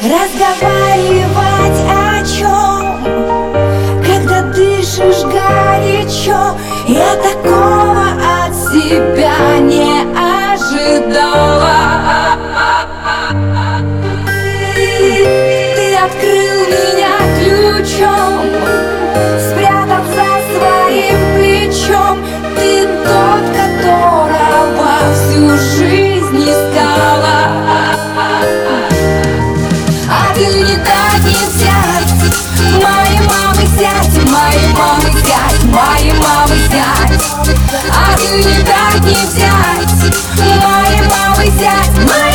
Разговаривать о чем, когда дышишь горячо? Я такого от себя не ожидала. Ты открыл меня ключом, спрятав за своим плечом. Ты тот, которого всю жизнь искала. А ты не дать не взять, моей мамы зять, моей мамы зять, моей мамы зять. А ты не дать не взять, моей мамы зять, моей